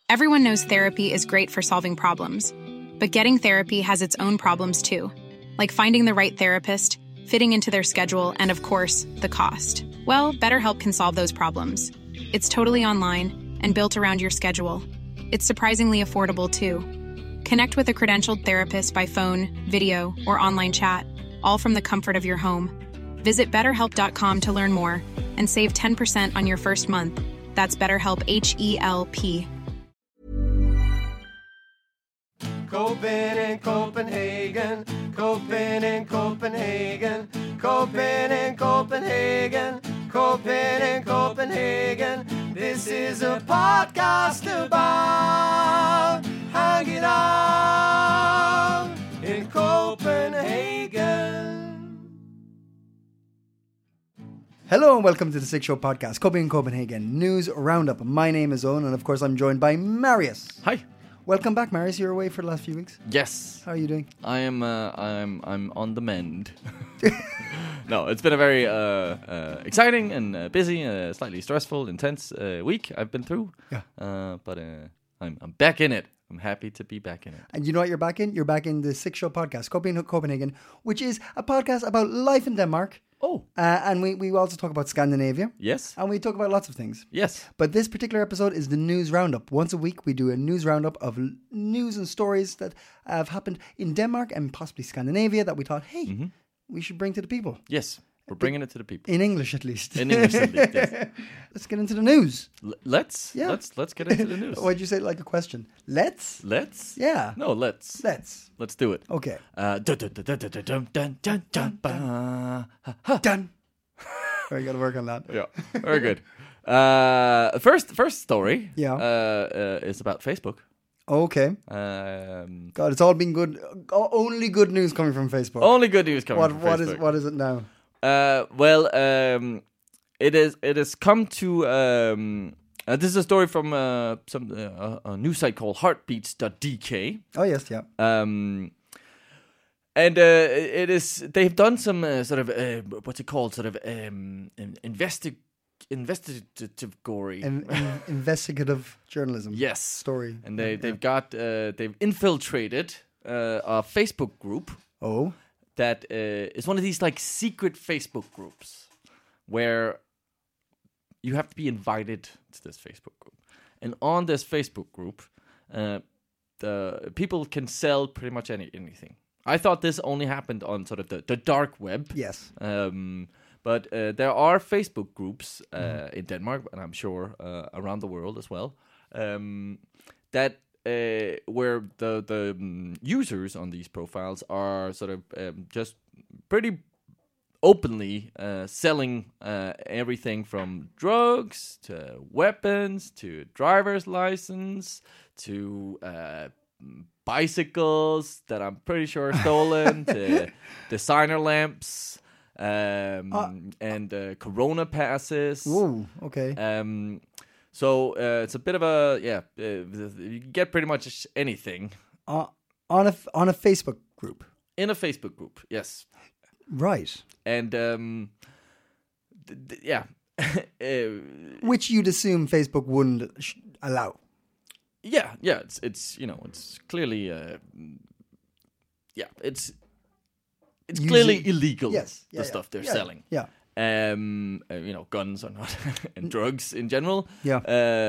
Everyone knows therapy is great for solving problems, but getting therapy has its own problems too, like finding the right therapist, fitting into their schedule, and of course, the cost. Well, BetterHelp can solve those problems. It's totally online and built around your schedule. It's surprisingly affordable too. Connect with a credentialed therapist by phone, video, or online chat, all from the comfort of your home. Visit BetterHelp.com to learn more and save 10% on your first month. That's BetterHelp, H-E-L-P. Copen in Copenhagen, Copen in Copenhagen, Copen in Copenhagen, Copen in Copenhagen. This is a podcast about hanging out in Copenhagen. Hello and welcome to the Six Show podcast, Copenhagen News Roundup. My name is Owen and of course I'm joined by Marius. Hi. Welcome back, Marius. You're away for the last few weeks. Yes. How are you doing? I'm on the mend. No, it's been a very exciting and busy, slightly stressful, intense week I've been through. Yeah. But I'm back in it. I'm happy to be back in it. And you know what you're back in? You're back in the Six Show podcast, Copenhagen, which is a podcast about life in Denmark. Oh. And we also talk about Scandinavia. Yes. And we talk about lots of things. Yes. But this particular episode is the news roundup. Once a week, we do a news roundup of news and stories that have happened in Denmark and possibly Scandinavia that we thought, hey, we should bring to the people. Yes. We're bringing it to the people. In English, at least. In English, at least, yes. Let's get into the news. Let's get into the news. Why'd you say it like a question? Let's? Let's? Yeah. No, let's. Let's do it. Okay. Done. I got to work on that. Yeah, very good. First story. Yeah. Is about Facebook. Okay. God, it's all been good. Only good news coming from Facebook. Only good news coming from Facebook. What is it now? It has come to. This is a story from a news site called Heartbeats.dk. Oh yes, yeah. And it is. They've done some sort of what's it called? Sort of investigative journalism. Yes, story. And they've infiltrated a Facebook group. Oh, that is one of these like secret Facebook groups where you have to be invited to this Facebook group, and on this Facebook group, the people can sell pretty much anything. I thought this only happened on sort of the dark web. Yes. But there are Facebook groups in Denmark, and I'm sure around the world as well, that where the users on these profiles are sort of just pretty openly selling everything from drugs to weapons to driver's license to bicycles that I'm pretty sure are stolen to designer lamps. And Corona passes. Ooh, okay. So it's a bit of a you can get pretty much anything on a Facebook group. In a Facebook group, yes. Right. And which you'd assume Facebook wouldn't allow. Yeah. It's it's clearly it's clearly illegal. Yes, the stuff they're selling. Yeah. Guns or not, and drugs in general. Yeah.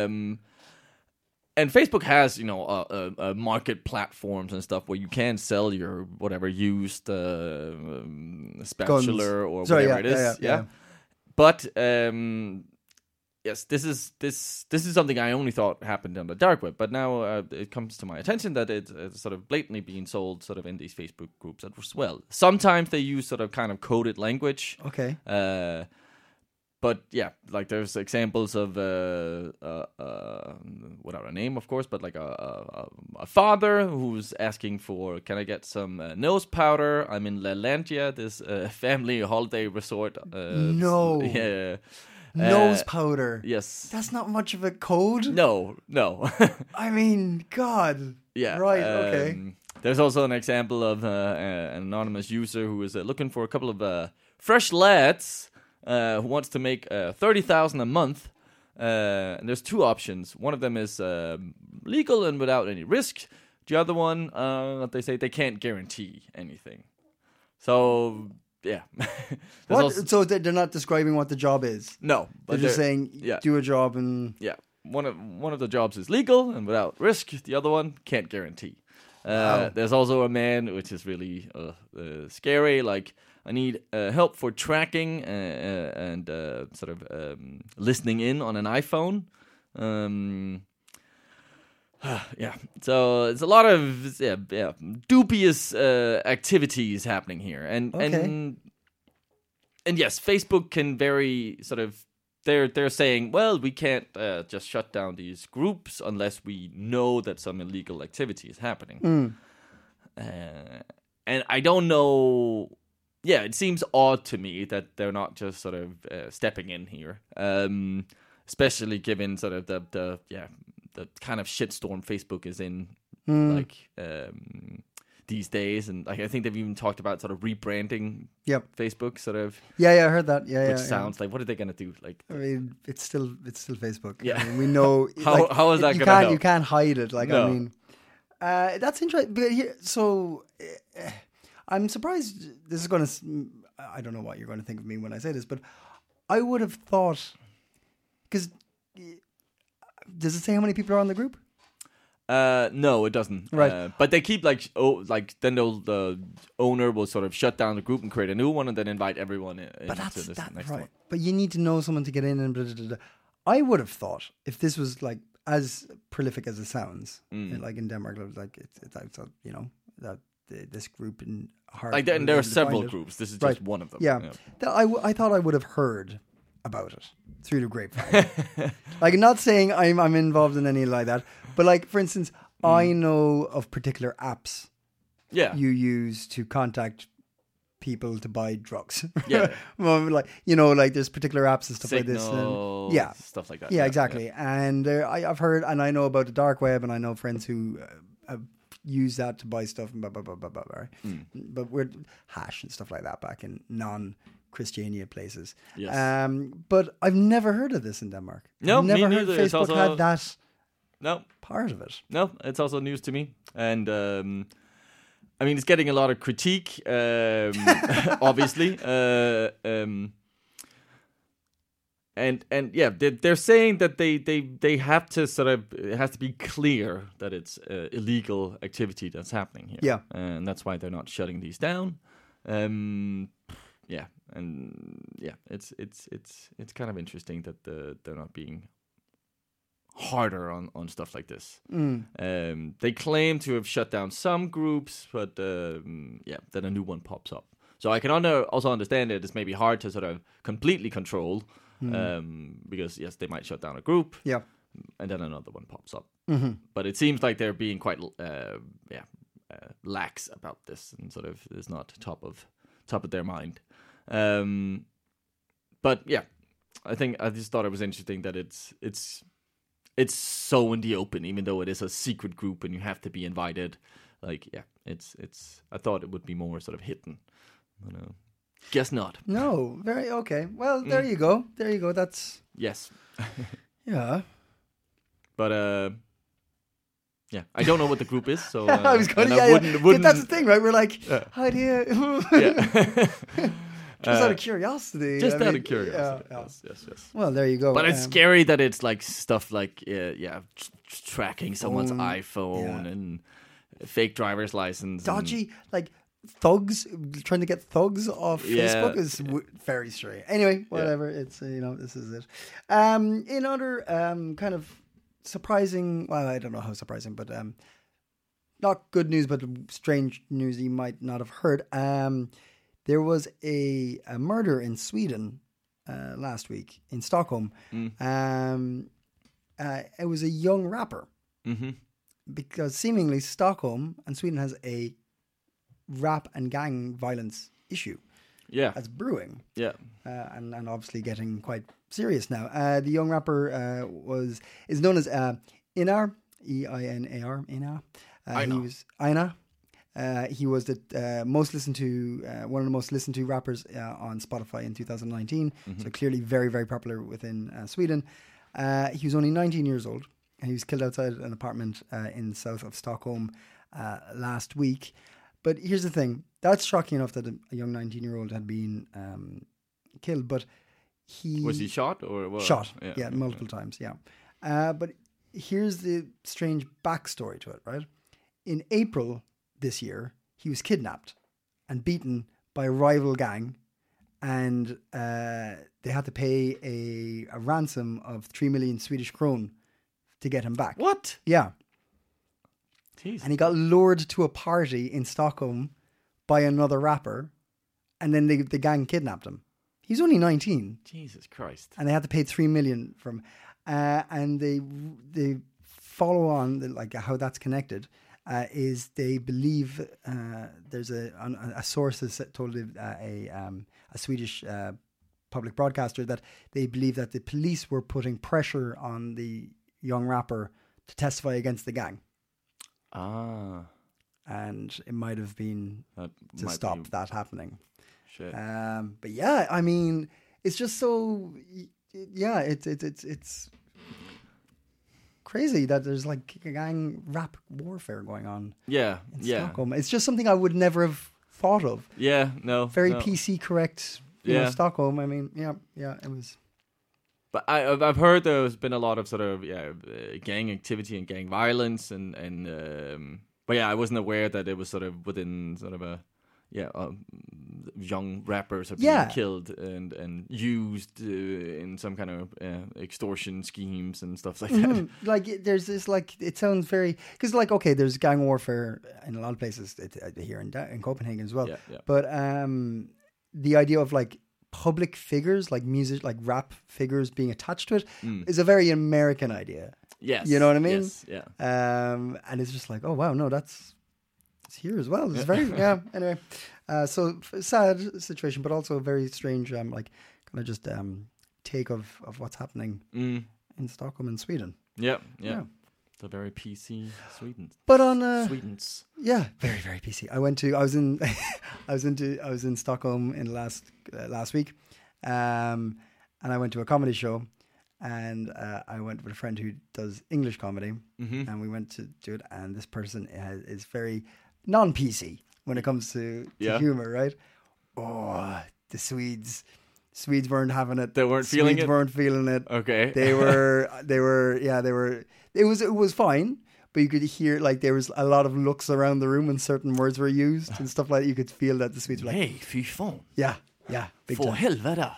And Facebook has, a market platforms and stuff where you can sell your whatever used spatula or whatever it is. Yeah. But yes, this is something I only thought happened on the dark web, but now it comes to my attention that it's sort of blatantly being sold sort of in these Facebook groups as well. Sometimes they use sort of kind of coded language. Okay. But yeah, like there's examples of without a name, of course, but like a father who's asking for, can I get some nose powder? I'm in Lalandia, this family holiday resort. No. Yeah. Nose powder. Yes. That's not much of a code. No. I mean, God. Yeah. Right, okay. There's also an example of an anonymous user who is looking for a couple of fresh lads who wants to make $30,000 a month. And there's two options. One of them is legal and without any risk. The other one, they say they can't guarantee anything. So, yeah. So they're not describing what the job is? No. They're just saying, do a job and... Yeah. One of the jobs is legal and without risk. The other one can't guarantee. There's also a man, which is really scary, like, I need help for tracking and sort of listening in on an iPhone. Yeah, so it's a lot of dubious activities happening here, and yes, Facebook can very sort of they're saying, well, we can't just shut down these groups unless we know that some illegal activity is happening, and I don't know. Yeah, it seems odd to me that they're not just sort of stepping in here, especially given sort of the kind of shitstorm Facebook is in, like these days, and like I think they've even talked about sort of rebranding Facebook, sort of. Yeah, I heard that. Which sounds like, what are they gonna do? Like, I mean, it's still Facebook. Yeah, I mean, we know how is that gonna help? You can't hide it. Like, no. I mean, that's interesting. But here, so. I'm surprised this is going to... I don't know what you're going to think of me when I say this, but I would have thought... Because... Does it say how many people are on the group? No, it doesn't. Right. But they keep then the owner will sort of shut down the group and create a new one and then invite everyone in. But that's this next right. one. But you need to know someone to get in and blah, blah, blah, blah. I would have thought if this was like as prolific as it sounds, like in Denmark, like it's you know, that this group in Hart. Like there are several groups. This is just one of them. Yeah. I thought I would have heard about it through the grapevine. Like, not saying I'm involved in any like that, but like, for instance, I know of particular apps you use to contact people to buy drugs. Yeah. Well, like, you know, like there's particular apps and stuff Signal, like this. And, stuff like that. Yeah, exactly. Yeah. And I've heard, and I know about the dark web, and I know friends who have used that to buy stuff and blah, blah, blah, blah, blah, right? But we're hash and stuff like that back in non-Christiania places. Yes. But I've never heard of this in Denmark. No, I've never me heard neither. Facebook had that part of it. No, it's also news to me. And I mean, it's getting a lot of critique, obviously. And yeah, they're saying that they have to sort of, it has to be clear that it's illegal activity that's happening here. Yeah. And that's why they're not shutting these down. It's kind of interesting that they're not being harder on stuff like this. They claim to have shut down some groups, but then a new one pops up. So I can also understand it. It's maybe hard to sort of completely control, because yes, they might shut down a group, and then another one pops up. But it seems like they're being quite lax about this, and sort of is not top of their mind. But yeah, I just thought it was interesting that it's so in the open, even though it is a secret group and you have to be invited. Like, yeah, it's. I thought it would be more sort of hidden. Guess not. No, very okay. Well, there you go. There you go. That's yes. Yeah. But yeah, I don't know what the group is, so I was going. Wouldn't. That's the thing, right? We're like, how do you? Just out of curiosity. Just out of curiosity. Yes. Well, there you go. But it's scary that it's like stuff like tracking someone's iPhone and fake driver's license. Dodgy, like thugs trying to get thugs off Facebook is very strange. Anyway, whatever. It's this is it. In other kind of surprising, well, I don't know how surprising, but not good news, but strange news you might not have heard. There was a murder in Sweden last week in Stockholm. It was a young rapper. Because seemingly Stockholm and Sweden has a rap and gang violence issue. Yeah. That's brewing. Yeah. And obviously getting quite serious now. The young rapper is known as Einar, E-I-N-A-R, Einar. He was Einar. He was the most listened to, one of the most listened to rappers on Spotify in 2019. So clearly very, very popular within Sweden. He was only 19 years old. and he was killed outside an apartment in south of Stockholm last week. But here's the thing: that's shocking enough that a young 19-year-old had been killed, but Was he shot or what? Shot, yeah, multiple times, yeah. But here's the strange backstory to it, right? In April this year, he was kidnapped and beaten by a rival gang, and they had to pay a ransom of 3 million Swedish kron to get him back. What? Yeah. Jeez. And he got lured to a party in Stockholm by another rapper, and then the gang kidnapped him. He's only 19. Jesus Christ. And they had to pay 3 million from, and they follow on like how that's connected is they believe there's a source has told a Swedish public broadcaster that they believe that the police were putting pressure on the young rapper to testify against the gang. And it might have been to stop that happening. Shit. But yeah, I mean, it's just so, yeah, it's crazy that there's like gang rap warfare going on. Yeah, in Stockholm. It's just something I would never have thought of. Yeah, no. Very PC correct. You know, Stockholm. I mean, yeah, it was. But I've heard there's been a lot of sort of gang activity and gang violence and but yeah, I wasn't aware that it was sort of within sort of a young rappers are being killed and used in some kind of extortion schemes and stuff like that. Like there's this like it sounds very because like okay, there's gang warfare in a lot of places here in Copenhagen as well. Yeah. But the idea of like public figures like music like rap figures being attached to it is a very American idea. Yes, you know what I mean. Yes, yeah. And it's just like oh wow no it's here as well. It's very Anyway, so sad situation, but also a very strange like kind of just take of what's happening in Stockholm and Sweden. Yeah. So very PC Sweden. But on Sweden's. Yeah, very very PC. I was in Stockholm in last week, and I went to a comedy show, and I went with a friend who does English comedy, and we went to do it. And this person is very non-PC when it comes to humor, right? Oh, the Swedes weren't having it. They weren't feeling it. Swedes weren't feeling it. Okay. They were. It was fine, but you could hear like there was a lot of looks around the room when certain words were used and stuff like that. You could feel that the Swedes were like, "Hey, fy fan." Yeah, big For time. helvete.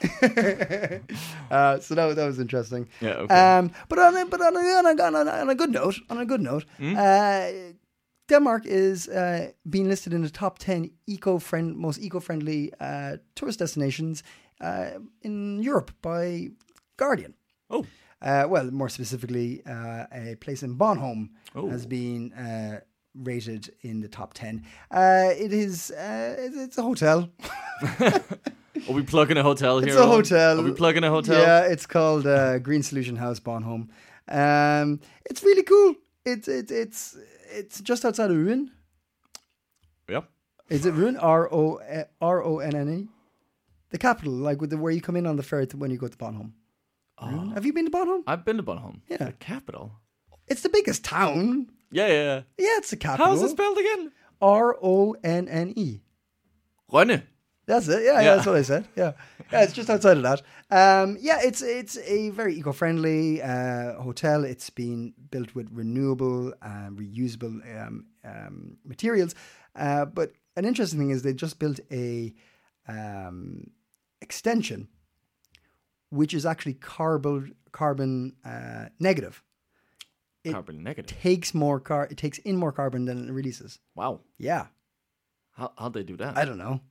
So that was interesting. Yeah. Okay. But on a good note, Denmark is being listed in the top 10 most eco-friendly tourist destinations in Europe by Guardian. Oh. Well, more specifically, a place in Bornholm has been rated in the top 10. It's a hotel. Are we plugging a hotel here? It's a hotel. Are we plugging a hotel? Yeah, it's called Green Solution House Bornholm. It's really cool. It's just outside of Rouen. Yeah. Is it Rouen? Ronne? The capital, like where you come in on the ferry when you go to Bornholm. Have you been to Bornholm? I've been to Bornholm. Yeah. The capital. It's the biggest town. Yeah. Yeah, it's the capital. How's it spelled again? Ronne. Rønne. That's it. Yeah, that's what I said. Yeah, it's just outside of that. It's a very eco-friendly hotel. It's been built with renewable, reusable materials. But an interesting thing is they just built a extension, which is actually carbon negative. Carbon negative. It takes in more carbon than it releases. Wow. Yeah. How'd they do that? I don't know.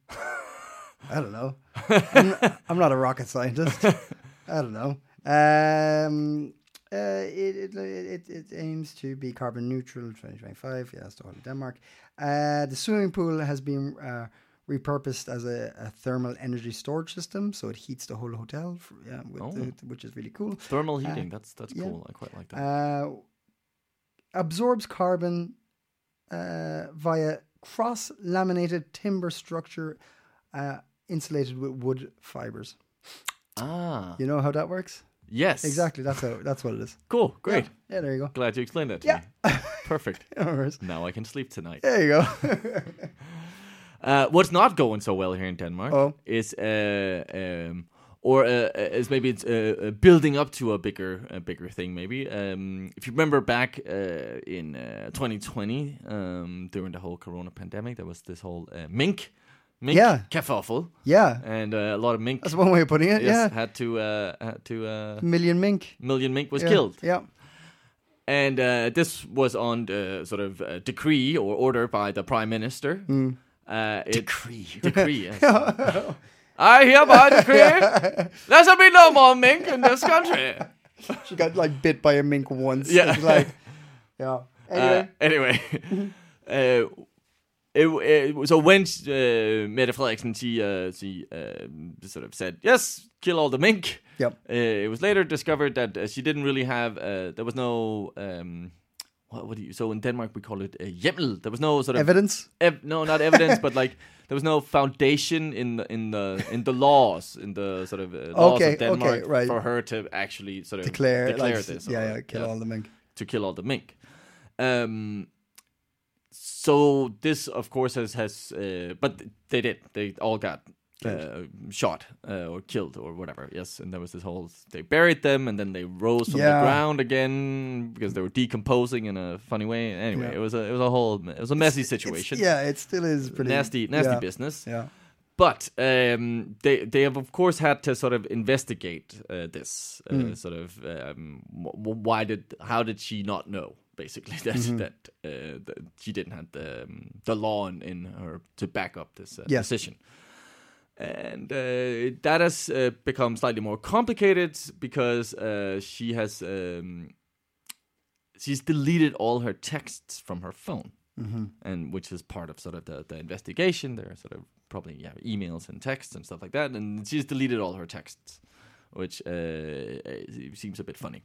I'm not a rocket scientist. I don't know. It aims to be carbon neutral 2025. Yeah, that's the whole of Denmark. The swimming pool has been repurposed as a thermal energy storage system, so it heats the whole hotel. Which is really cool. Thermal heating. That's cool. I quite like that. Absorbs carbon via cross-laminated timber structure. Insulated with wood fibers. Ah. You know how that works? Yes. Exactly. That's what it is. Cool. Great. Yeah, there you go. Glad you explained that to Yeah. me. Perfect. No worries. Now I can sleep tonight. There you go. What's not going so well here in Denmark is is maybe it's building up to a bigger thing. Maybe if you remember back in 2020, during the whole Corona pandemic, there was this whole mink kerfuffle. Yeah. And a lot of mink. That's one way of putting it. Yes, Yeah. had to Million mink. was killed. Yeah. And this was on the sort of decree or order by the prime minister. Decree, yes. I hereby decree there shall be no more mink in this country. She got like bit by a mink once. Yeah. It's like, yeah. Anyway. So when Mette Frederiksen, she sort of said, yes, kill all the mink. Yep. It was later discovered that she didn't really have, there was no, so in Denmark we call it hjemmel. There was no sort of evidence. No, not evidence, but like there was no foundation in the laws, in the sort of laws of Denmark for her to actually sort of declare this. Kill all the mink. To kill all the mink. So this, of course, has but they did. They all got shot or killed or whatever. Yes, and there was this whole. They buried them and then they rose from the ground again because they were decomposing in a funny way. Anyway, it was a messy situation. It still is pretty nasty business. Yeah. But they have, of course, had to sort of investigate this. Sort of how did she not know? Basically, that she didn't have the law in her to back up this decision, and that has become slightly more complicated because she's deleted all her texts from her phone, and which is part of sort of the investigation. There are sort of probably emails and texts and stuff like that, and she's deleted all her texts, which seems a bit funny,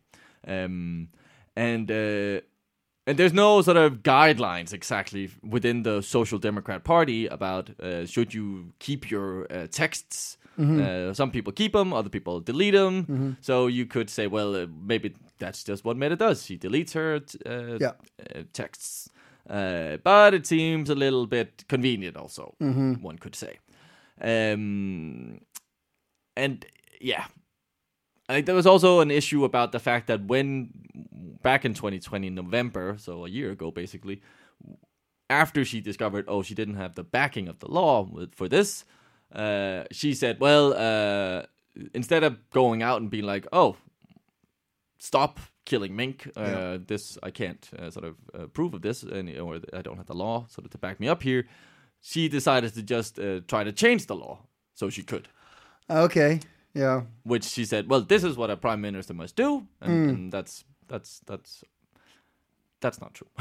And there's no sort of guidelines exactly within the Social Democrat Party about should you keep your texts. Some people keep them, other people delete them. So you could say, well, maybe that's just what Mette does. She deletes her texts. But it seems a little bit convenient also, one could say. I think there was also an issue about the fact that back in 2020, November, so a year ago basically, after she discovered, she didn't have the backing of the law for this, she said, well, instead of going out and being like, stop killing mink, this, I can't sort of approve of this, or I don't have the law sort of to back me up here, she decided to just try to change the law so she could. Okay. Yeah. Which she said, well, this is what a prime minister must do, and that's not true.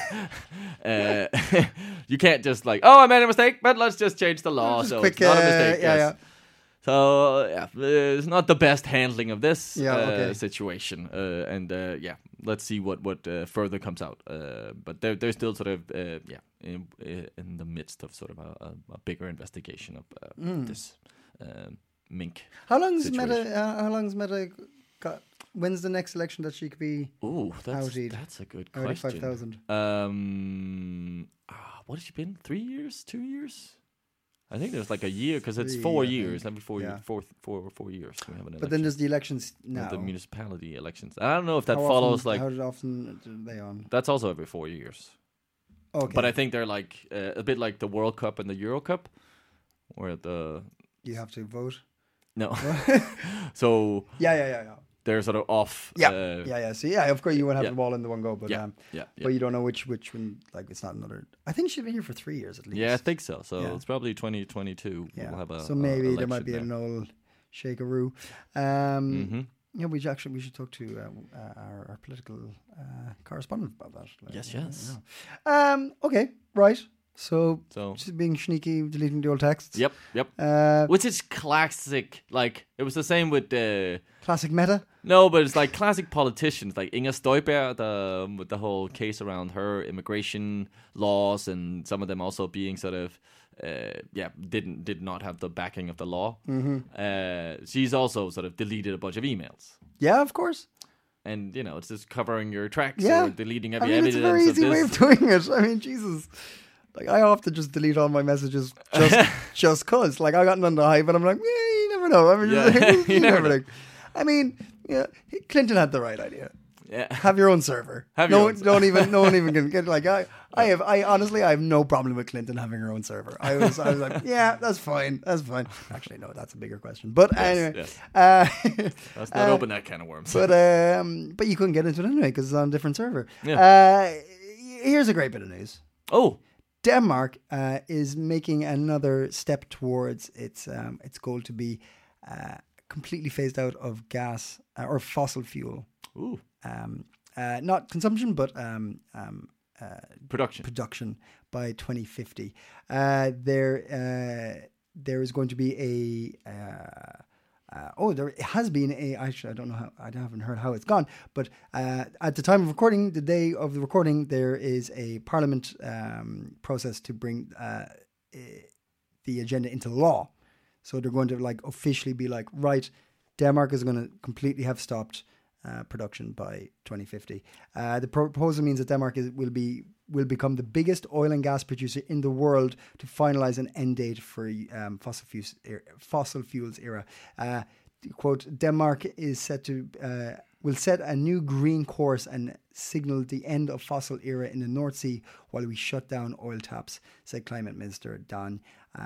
You can't just like, I made a mistake, but let's just change the law. So it's not a mistake. Yeah. So it's not the best handling of this situation, let's see what further comes out. But they're still sort of in the midst of sort of a bigger investigation of this. Mink. How long's Mette got? When's the next election that she could be? Oh, that's a good question. 35,000. What has she been? 3 years? 2 years? I think there's like a year because it's 4 years. Every 4 years, 4 years we have an election. But then there's the elections now. The municipality elections. I don't know if that follows often, how often are they on? That's also every 4 years. Okay. But I think they're like a bit like the World Cup and the Euro Cup, where you have to vote. No. So they're sort of off. So of course you won't have them all in the one go, but but you don't know which one. Like it's not another. I think she's been here for 3 years at least. Yeah, I think so. So it's probably 2022. Yeah. We'll have a. So maybe there might be an old shakeroo. Yeah, we should talk to our political correspondent about that. Yes. Okay, right. So just being sneaky, deleting the old texts. Yep. Which is classic. Like, it was the same with classic meta. No, but it's like classic politicians, like Inger Støjberg, with the whole case around her immigration laws, and some of them also being sort of, did not have the backing of the law. Mm-hmm. She's also sort of deleted a bunch of emails. Yeah, of course. And, it's just covering your tracks or deleting every evidence. It's a very easy way of doing it. I mean, Jesus. Like, I often just delete all my messages just cause. Like, I got none to hide, but I'm like, you never know. I mean, you never know. I mean, Clinton had the right idea. Yeah. Have your own server. No one even can get, like, I honestly have no problem with Clinton having her own server. I was like, yeah, that's fine. Actually, no, that's a bigger question. But anyway. Let's not open that can of worms. But you couldn't get into it anyway because it's on a different server. Yeah. Here's a great bit of news. Oh. Denmark is making another step towards its goal to be completely phased out of gas or fossil fuel. Ooh. Not consumption, but production by 2050. There is going to be there has been actually, I don't know how, I haven't heard how it's gone, but at the time of recording, the day of the recording, there is a parliament process to bring the agenda into law. So they're going to like officially be like, right, Denmark is going to completely have stopped production by 2050. The proposal means that Denmark will become the biggest oil and gas producer in the world to finalize an end date for fossil fuels era. Quote, Denmark is set to will set a new green course and signal the end of fossil era in the North Sea while we shut down oil taps, said Climate Minister Dan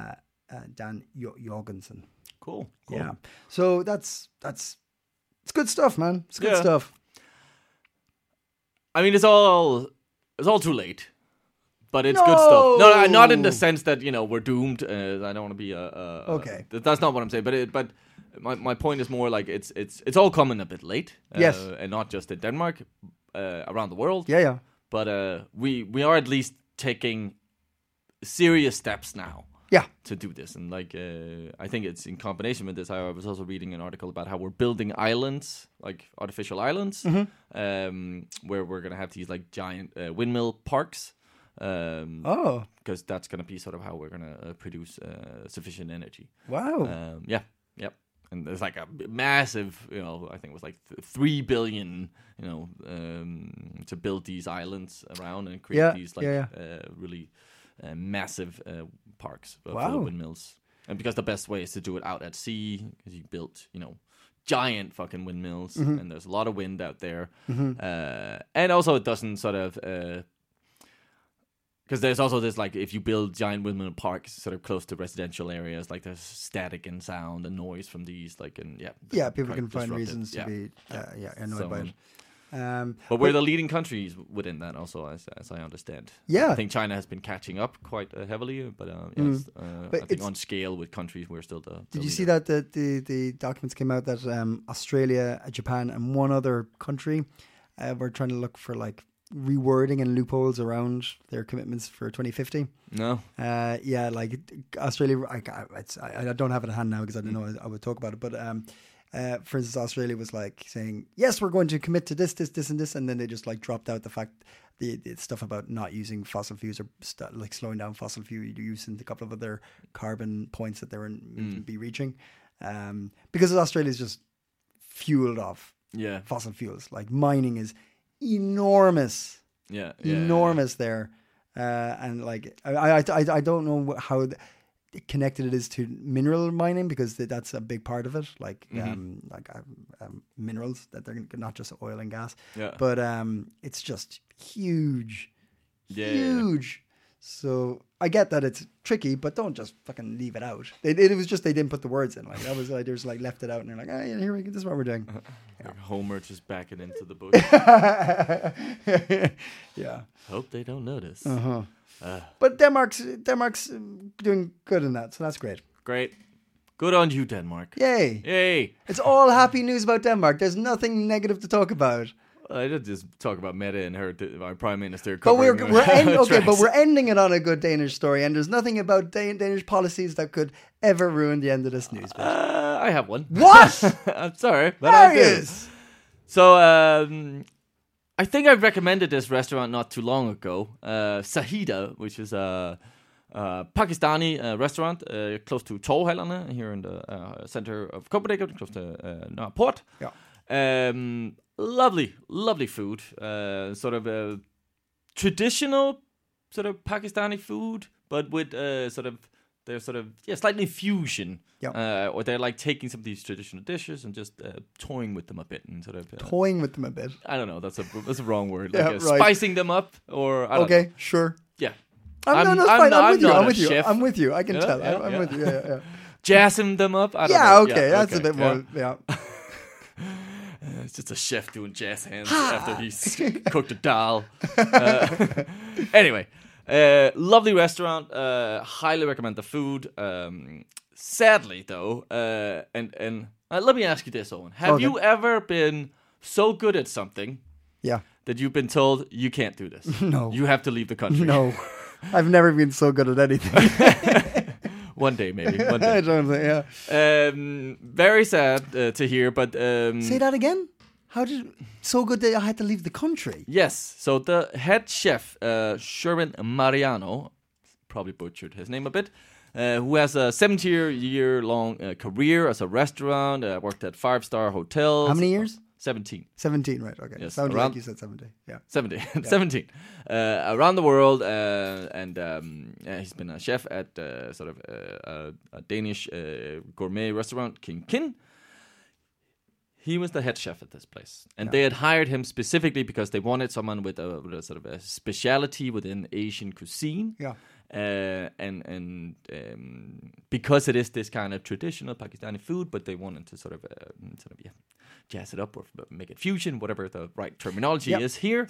Jorgensen. Cool. Yeah. So that's it's good stuff, man. It's good stuff. I mean, it's all too late, but it's good stuff. No, not in the sense that we're doomed. I don't want to be okay. That's not what I'm saying. But my point is more like it's all coming a bit late. Yes, and not just in Denmark, around the world. Yeah. But we are at least taking serious steps now. Yeah. To do this. And I think it's in combination with this. I was also reading an article about how we're building islands, like artificial islands, where we're going to have these like giant windmill parks. Because that's going to be sort of how we're going to produce sufficient energy. Wow. Yep. And there's like a massive, I think it was like 3 billion, to build these islands around and create these really massive parks full of windmills. And because the best way is to do it out at sea, because you built, giant fucking windmills, and there's a lot of wind out there. And also it doesn't sort of... Because there's also this, like, if you build giant windmill parks sort of close to residential areas, like there's static and sound and noise from these, like, and people can find reasons to be annoyed by it. But we're the leading countries within that also, as I understand. Yeah. I think China has been catching up quite heavily, but I think on scale with countries, we're still the Did you leader. see that the documents came out that Australia, Japan, and one other country were trying to look for, like, rewording and loopholes around their commitments for 2050? No. Like Australia, I don't have it at hand now because I didn't know I would talk about it, but for instance, Australia was like saying, yes, we're going to commit to this, and this, and then they just like dropped out the fact, the stuff about not using fossil fuels or like slowing down fossil fuel use and a couple of other carbon points that they were be reaching, because Australia is just fueled off fossil fuels. Like mining is enormous, enormous there, and like I don't know how connected it is to mineral mining, because that's a big part of it, like minerals, that they're not just oil and gas, but it's just huge. So I get that it's tricky, but don't just fucking leave it out. It was just they didn't put the words in. Like that was like they just like left it out, and they're like, oh yeah, here we go. This is what we're doing. Like Homer just backing into the book. Yeah. Hope they don't notice. But Denmark's doing good in that, so that's great. Great. Good on you, Denmark. Yay. Yay. It's all happy news about Denmark. There's nothing negative to talk about. I did just talk about Mette and our prime minister. But But we're ending it on a good Danish story, and there's nothing about Danish policies that could ever ruin the end of this news. I have one. What? I'm sorry, but I do. Marius! So I think I recommended this restaurant not too long ago, Sahida, which is a Pakistani restaurant close to Torvhallerne here in the center of Copenhagen, close to Nørreport. Yeah. Lovely food. Sort of a traditional sort of Pakistani food, but with slightly fusion. Yeah. Or they're like taking some of these traditional dishes and just toying with them a bit and sort of Toying with them a bit. I don't know. That's a wrong word. Yeah, Like right. Spicing them up, or I don't know. Sure. Yeah. I'm fine. I'm with you. not I'm a with you. chef. I'm with you. I can Yeah, tell. yeah, I'm yeah. with you. Yeah. Jazzing them up. I don't Yeah. know. Okay. That's a bit more. Yeah. It's just a chef doing jazz hands after he's cooked a dal. Anyway, lovely restaurant. Highly recommend the food. Sadly, though, and let me ask you this, Owen: have Okay. you ever been so good at something Yeah. that you've been told you can't do this? No. You have to leave the country. No. I've never been so good at anything. One day, maybe. One day. I don't think. Yeah. Very sad to hear, but Say that again. How did so good that I had to leave the country? yes. So the head chef, Sherwin Mariano, probably butchered his name a bit, who has a 70-year-long career as a restaurant, worked at 5-star hotels. How many years? 17. 17, right? Okay. Yes, Sounded around- like you said 70. Yeah. 17. Around the world, and he's been a chef at sort of a Danish gourmet restaurant, King Kin. He was the head chef at this place, and they had hired him specifically because they wanted someone with a sort of a speciality within Asian cuisine. Yeah. And because it is this kind of traditional Pakistani food, but they wanted to sort of jazz it up or make it fusion, whatever the right terminology is here.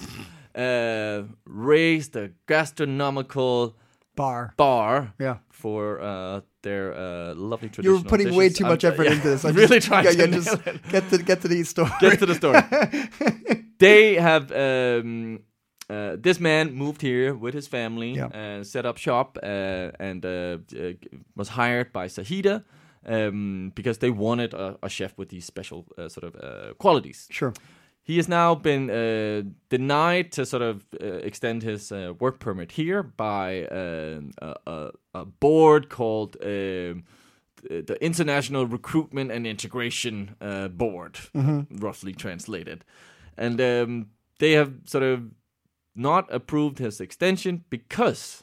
Raise the gastronomical bar Yeah. for their lovely traditional You're putting dishes. way too much effort into this. I'm really trying to just nail it. get to the story. Get to the story. They have this man moved here with his family, set up shop, and was hired by Sahida because they wanted a chef with these special sort of qualities. Sure. He has now been denied to sort of extend his work permit here by a board called the International Recruitment and Integration Board, roughly translated. And they have sort of not approved his extension because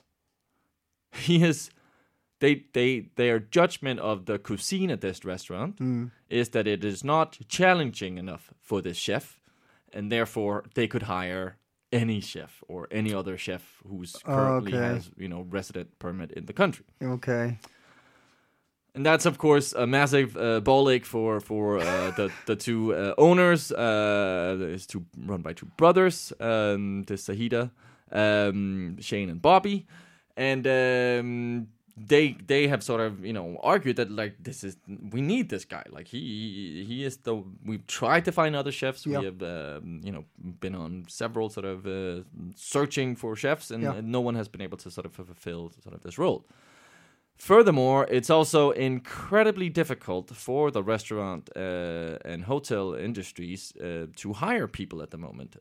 their judgment of the cuisine at this restaurant is that it is not challenging enough for this chef, and therefore they could hire any chef or any other chef who's currently has resident permit in the country. Okay. And that's of course a massive ball ache for the two owners. It's run by two brothers, the Sahida, Shane and Bobby, and they have sort of argued that like we need this guy, like he is we've tried to find other chefs. We have been on several sort of searching for chefs, and no one has been able to sort of fulfill sort of this role. Furthermore, it's also incredibly difficult for the restaurant and hotel industries to hire people at the moment.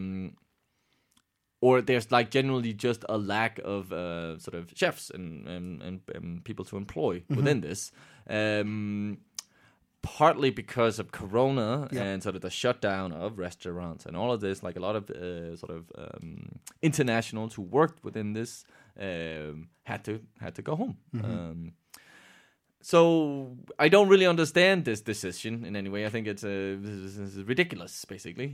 Or there's like generally just a lack of sort of chefs and people to employ within this. Partly because of Corona and sort of the shutdown of restaurants and all of this, like a lot of sort of internationals who worked within this had to go home. So I don't really understand this decision in any way. I think it's ridiculous, basically.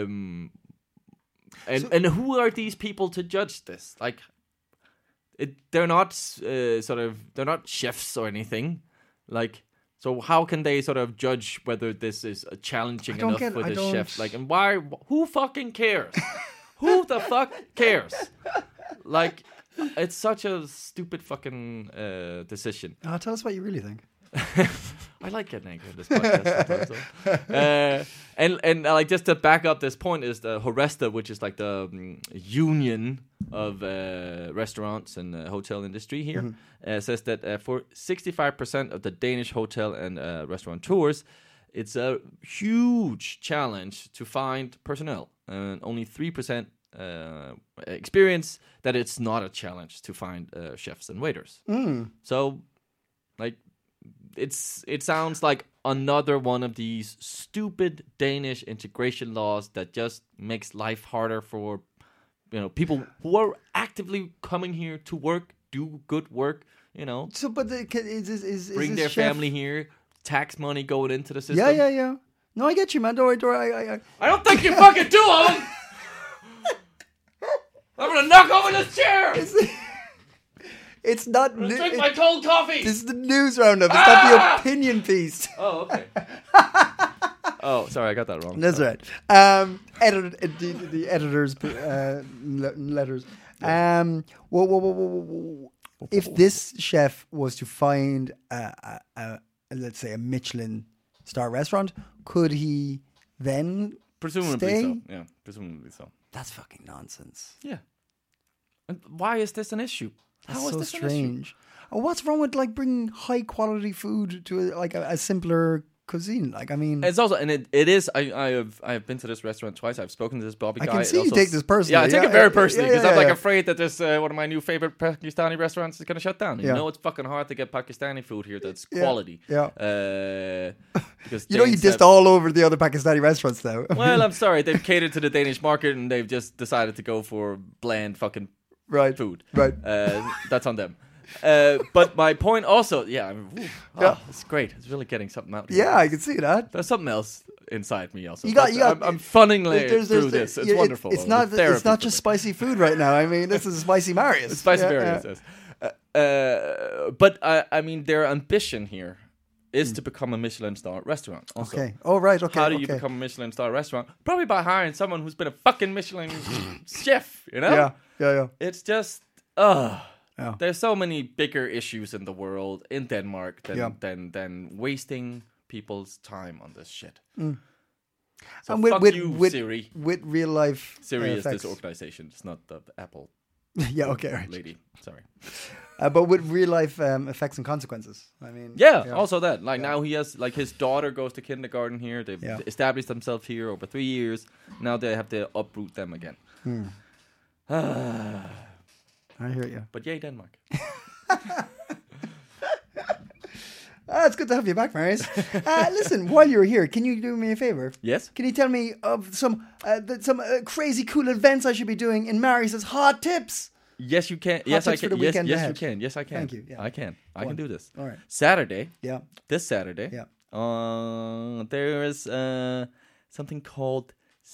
And who are these people to judge this? Like, they're not they're not chefs or anything. Like, so how can they sort of judge whether this is challenging enough for the chef? Like, and why? Who fucking cares? Who the fuck cares? Like, it's such a stupid fucking decision. Tell us what you really think. I like getting angry in this podcast sometimes, though. And like just to back up this point is the Horesta, which is like the union of restaurants and hotel industry here, says that for 65% of the Danish hotel and restaurant tours, it's a huge challenge to find personnel, and only 3% experience that it's not a challenge to find chefs and waiters. So, like, it sounds like another one of these stupid Danish integration laws that just makes life harder for people who are actively coming here to work, do good work. So, but is bring their chef... family here. Tax money going into the system. Yeah. No, I get you, man. Don't worry. I don't think you fucking do of them. I'm gonna knock over this chair. It's not. Drink my cold coffee. This is the news roundup. It's not the opinion piece. Oh, okay. Oh, sorry, I got that wrong. That's right. The editor's letters. If this chef was to find let's say a Michelin star restaurant, could he then presumably stay? So? Yeah, presumably so. That's fucking nonsense. Yeah. And why is this an issue? That's How is so this strange. an issue? Oh, what's wrong with like bringing high quality food to a simpler cuisine? Like, I mean, It's also, and it is. I have been to this restaurant twice. I've spoken to this Bobby guy. I can see It you also take this personally. Yeah, I take it very personally because I'm like yeah. afraid that this one of my new favorite Pakistani restaurants is going to shut down. You know, it's fucking hard to get Pakistani food here that's quality. Yeah. Because you Danes dissed all over the other Pakistani restaurants now. Well, I'm sorry. They've catered to the Danish market and they've just decided to go for bland fucking food. Right. That's on them. But my point also, it's great. It's really getting something out. Yeah, I can see that. There's something else inside me also. I'm funning through this. It's wonderful. It's not just spicy food right now. I mean, this is Spicy Marius. It's Spicy Marius, yes. But I mean, their ambition here is to become a Michelin star restaurant. Also. Okay. Oh, right. Okay. How do you become a Michelin star restaurant? Probably by hiring someone who's been a fucking Michelin chef, Yeah. It's just, there's so many bigger issues in the world, in Denmark, than wasting people's time on this shit. So and fuck you, Siri. With real life Siri is effects. this organization. It's not the Apple right. lady. Sorry. But with real life effects and consequences. I mean, also that. Like now he has, like his daughter goes to kindergarten here. They've established themselves here over 3 years. Now they have to uproot them again. I hear you. But yay, Denmark. It's good to have you back, Marius. Listen, while you're here, can you do me a favor? Yes. Can you tell me of some crazy cool events I should be doing in Marius's hot tips? Yes, you can. Yes, I can. Yes, you can. Yes, I can. Thank you. Yeah. I can. I can do this. All right. Saturday. Yeah. This Saturday. Yeah. There is something called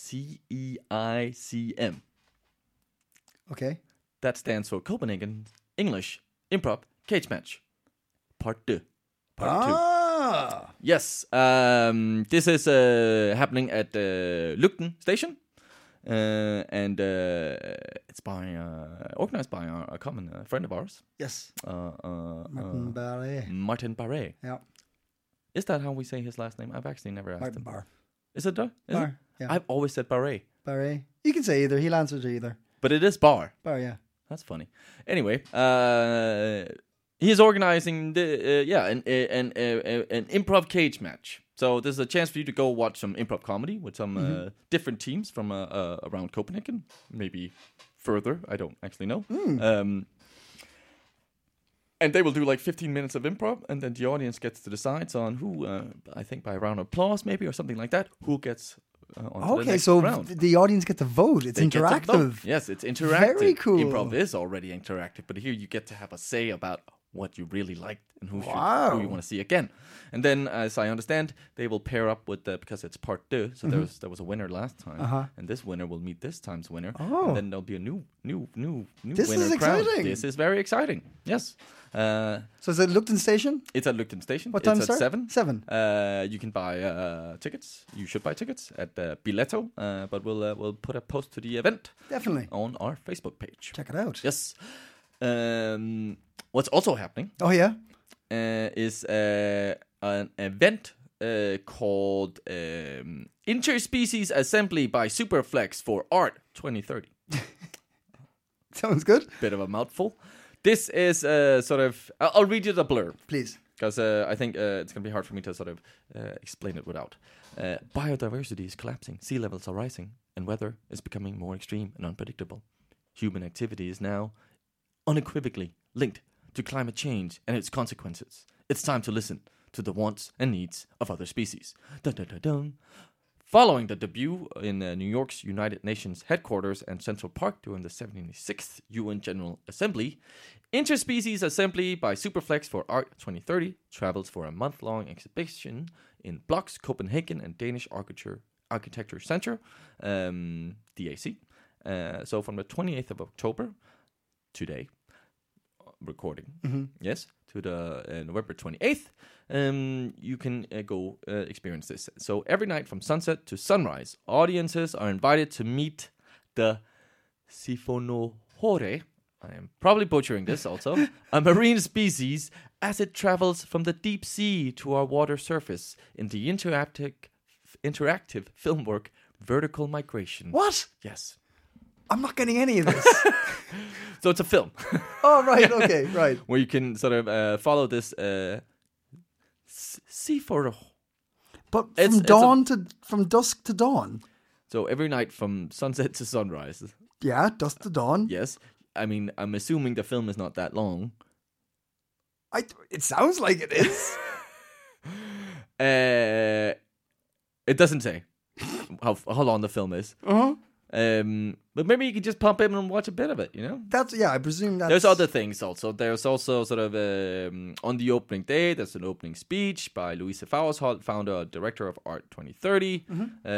CEICM. Okay. That stands for Copenhagen English Improv Cage Match. Part 2. Part 2. Yes. This is happening at Lugten Station. And it's organized by a common friend of ours. Yes. Martin Barre. Martin Barre. Yeah. Is that how we say his last name? I've actually never asked Martin him. Barre. Is it? Barre. Yeah. I've always said Barre. Barre. You can say either. He'll answer to either. But it is Bar. Barre, yeah. That's funny. Anyway, he is organizing an improv cage match. So there's a chance for you to go watch some improv comedy with some different teams from around Copenhagen, maybe further. I don't actually know. And they will do like 15 minutes of improv, and then the audience gets to decide on who, I think by a round of applause maybe or something like that, who gets onto the next round. The audience get to vote. It's interactive. Yes, it's interactive. Very cool. Improv is already interactive, but here you get to have a say about what you really liked and who you want to see again. And then, as I understand, they will pair up with because it's part 2. So there was a winner last time, and this winner will meet this time's winner. Oh. And then there'll be a new This winner is exciting. crowned. This is very exciting. Yes. So is it Lugten Station? It's at Lugten Station. What time it's start? At 7. 7. You can buy tickets. You should buy tickets at Biletto. But we'll put a post to the event. Definitely. On our Facebook page. Check it out. Yes. What's also happening? Oh, yeah? Is an event called Interspecies Assembly by Superflex for Art 2030. Sounds good. Bit of a mouthful. This is sort of... I'll read you the blurb. Please. Because I think it's going to be hard for me to sort of explain it without. Biodiversity is collapsing, sea levels are rising, and weather is becoming more extreme and unpredictable. Human activity is now unequivocally linked to climate change and its consequences. It's time to listen to the wants and needs of other species. Dun, dun, dun, dun. Following the debut in New York's United Nations headquarters and Central Park during the 76th UN General Assembly, Interspecies Assembly by Superflex for Art 2030 travels for a month-long exhibition in Blocks, Copenhagen, and Danish Architecture Center, DAC. So from the 28th of October, today, recording, yes, to the November 28th, you can go experience this. So every night from sunset to sunrise, audiences are invited to meet the Siphonohore, I am probably butchering this also, a marine species as it travels from the deep sea to our water surface in the interactive film work Vertical Migration. What? Yes. I'm not getting any of this. So it's a film. Oh, right. Okay, right. Where you can sort of follow this Siphonohore. But from dusk to dawn. So every night from sunset to sunrise. Yeah, dusk to dawn. Yes. I mean, I'm assuming the film is not that long. It sounds like it is. It doesn't say how long the film is. Uh-huh. But maybe you can just pop in and watch a bit of it, you know? I presume that's... There's other things also. There's also sort of, on the opening day, there's an opening speech by Louise Faurholt, founder and director of Art 2030.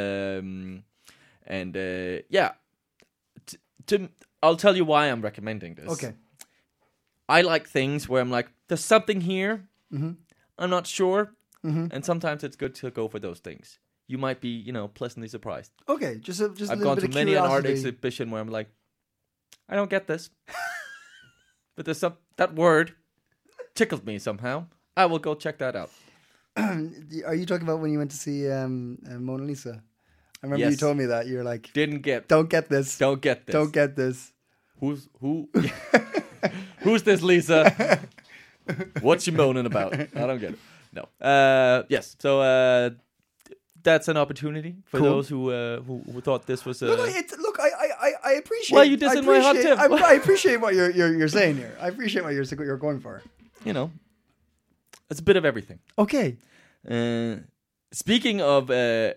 I'll tell you why I'm recommending this. Okay. I like things where I'm like, there's something here. I'm not sure. And sometimes it's good to go for those things. You might be, pleasantly surprised. Okay, just I've gone to many an art exhibition where I'm like, I don't get this. But there's that word tickled me somehow. I will go check that out. Are you talking about when you went to see Mona Lisa? I remember you told me that. You're like... Don't get this. Don't get this. Who? Who's this Lisa? What's she moaning about? I don't get it. No. Yes. So that's an opportunity for those who thought this was. I appreciate. Well, you dissing my hot tip. I appreciate what you're saying here. I appreciate what you're going for. It's a bit of everything. Okay. Speaking of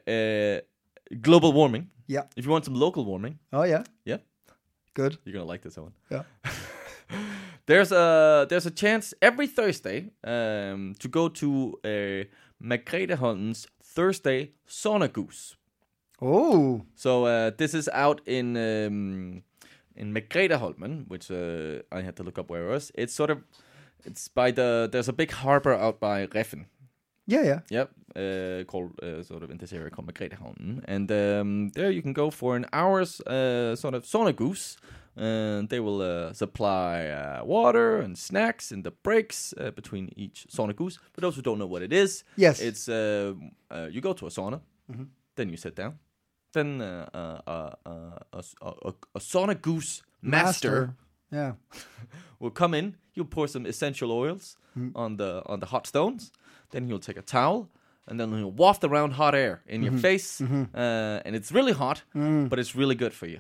global warming. Yeah. If you want some local warming. Oh yeah. Yeah. Good. You're gonna like this one. Yeah. There's a chance every Thursday to go to Margreteholm's Thursday Sauna Goose. Oh. So this is out in Margreteholmen, which I had to look up where it was. It's by there's a big harbor out by Reffen. Yeah. Yep. Called sort of in this area called Margreteholmen, and there you can go for an hour's sort of sauna goose. And they will supply water and snacks in the breaks between each sauna goose. For those who don't know what it is, yes, it's you go to a sauna, then you sit down, then a sauna goose master will come in. He'll pour some essential oils on the hot stones. Then he'll take a towel. And then he'll waft around hot air in your face. And it's really hot, but it's really good for you.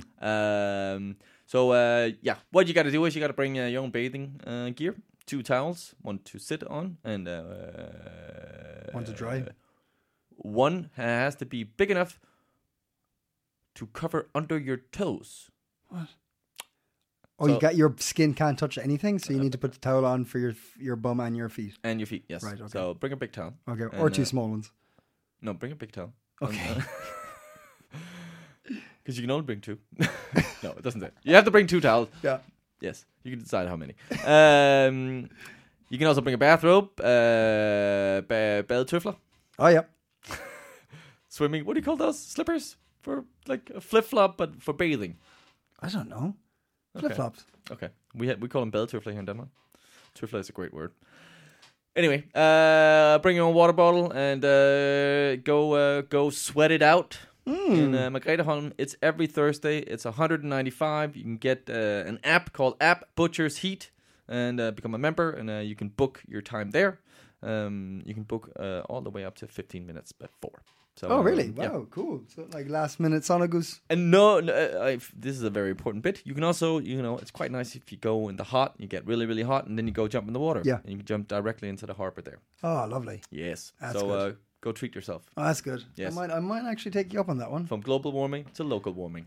What you got to do is you got to bring your own bathing gear. 2 towels, one to sit on, and one to dry. One has to be big enough to cover under your toes. What? Oh, so, your skin can't touch anything, so you need to put the towel on for your bum and your feet. And your feet, yes. Right, okay. So bring a big towel. Okay, or 2 small ones. No, bring a big towel. Okay. Because you can only bring 2. No, it doesn't say. You have to bring 2 towels. Yeah. Yes, you can decide how many. You can also bring a bathrobe, badetøfler. Oh, yeah. Swimming, what do you call those? Slippers? For like a flip-flop, but for bathing. I don't know. Flip-flops. Okay. We call them badetøfler here in Denmark. Tøfler is a great word. Anyway, bring your own water bottle and go sweat it out in Margretheholm. It's every Thursday. It's $195. You can get an app called App Butcher's Heat and become a member, and you can book your time there. You can book all the way up to 15 minutes before. So, Oh, really? Wow, yeah. cool. So, like last minute Sonagus. And this is a very important bit. You can also, it's quite nice if you go in the hot, you get really, really hot, and then you go jump in the water. Yeah. And you can jump directly into the harbor there. Oh, lovely. Yes. That's so good. Go treat yourself. Oh, that's good. Yes. I might actually take you up on that one. From global warming to local warming.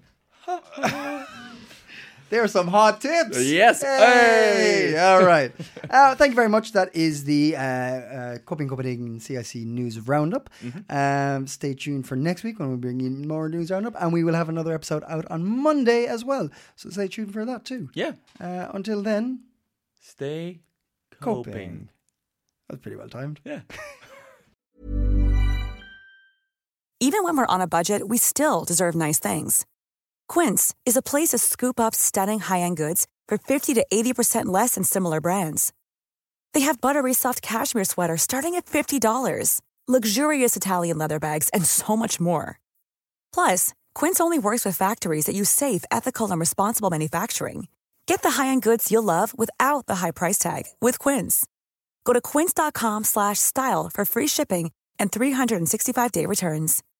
There are some hot tips. Yes. Hey. Hey. All right. Thank you very much. That is the Coping Copenhagen CIC News Roundup. Stay tuned for next week when we bring in more News Roundup. And we will have another episode out on Monday as well. So stay tuned for that too. Yeah. Until then, Stay coping. coping. That's pretty well timed. Yeah. Even when we're on a budget, we still deserve nice things. Quince is a place to scoop up stunning high-end goods for 50 to 80% less than similar brands. They have buttery soft cashmere sweaters starting at $50, luxurious Italian leather bags, and so much more. Plus, Quince only works with factories that use safe, ethical, and responsible manufacturing. Get the high-end goods you'll love without the high price tag with Quince. Go to quince.com/style for free shipping and 365-day returns.